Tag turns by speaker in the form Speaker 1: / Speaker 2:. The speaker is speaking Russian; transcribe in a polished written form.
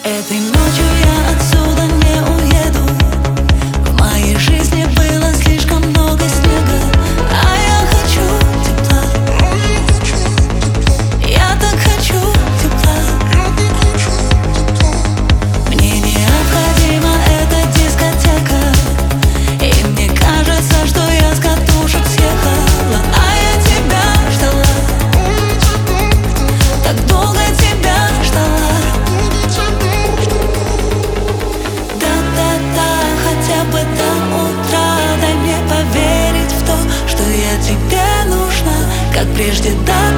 Speaker 1: Этой ночью я отсюда не уеду. В моей жизни было слишком много снега, а я хочу тепла. Я так хочу тепла. Мне необходима эта дискотека, и мне кажется, что я с катушек съехала. А я тебя ждала, так долго тебя ждала. Хотя бы до утра дай мне поверить в то, что я тебе нужна, как прежде, да.